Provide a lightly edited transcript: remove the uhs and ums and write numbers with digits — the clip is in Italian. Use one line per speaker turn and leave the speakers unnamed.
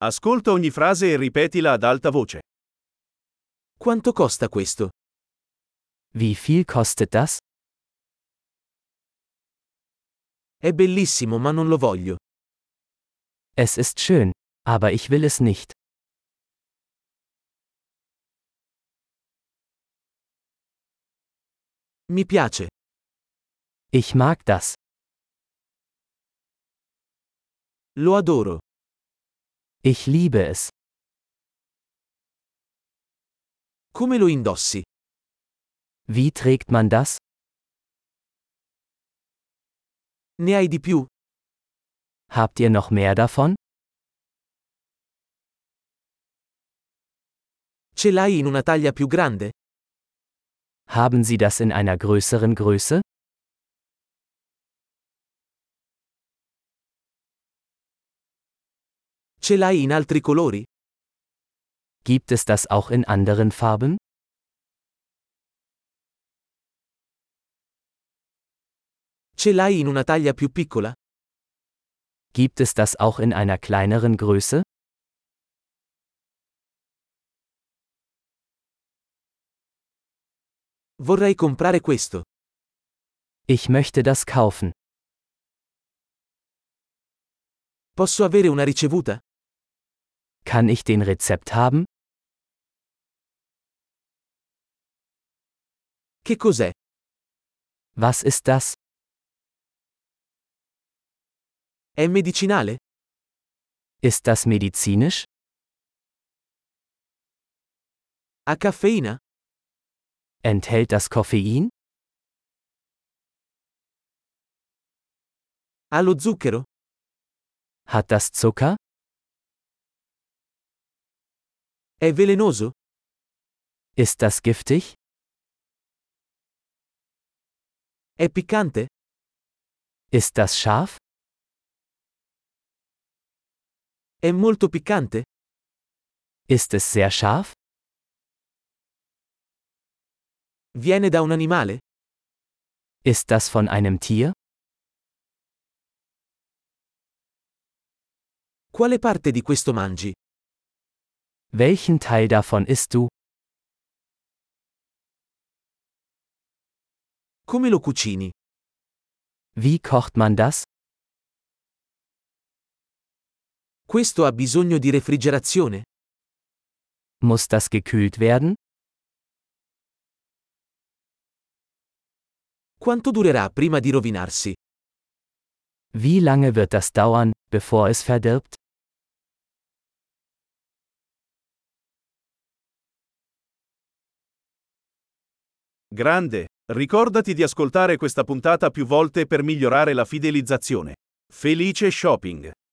Ascolta ogni frase e ripetila ad alta voce.
Quanto costa questo?
Wie viel kostet das?
È bellissimo ma non lo voglio.
Es ist schön, aber ich will es nicht.
Mi piace.
Ich mag das.
Lo adoro.
Ich liebe es.
Come lo indossi?
Wie trägt man das?
Ne hai di più?
Habt ihr noch mehr davon?
Ce l'hai in una taglia più grande?
Haben Sie das in einer größeren Größe?
Ce l'hai in altri colori?
Gibt es das auch in anderen Farben?
Ce l'hai in una taglia più piccola?
Gibt es das auch in einer kleineren Größe?
Vorrei comprare questo.
Ich möchte das kaufen.
Posso avere una ricevuta?
Kann ich den Rezept haben?
Che cos'è?
Was ist das?
È medicinale?
Ist das medizinisch?
Ha caffeina?
Enthält das Koffein?
Ha lo zucchero?
Hat das Zucker?
È velenoso?
Ist das giftig?
È piccante?
Ist das scharf?
È molto piccante?
Ist es sehr scharf?
Viene da un animale?
Ist das von einem Tier?
Quale parte di questo mangi?
Welchen Teil davon isst du?
Come lo cucini?
Wie kocht man das?
Questo ha bisogno di refrigerazione?
Muss das gekühlt werden?
Quanto durerà prima di rovinarsi?
Wie lange wird das dauern, bevor es verdirbt?
Grande! Ricordati di ascoltare questa puntata più volte per migliorare la fidelizzazione. Felice shopping!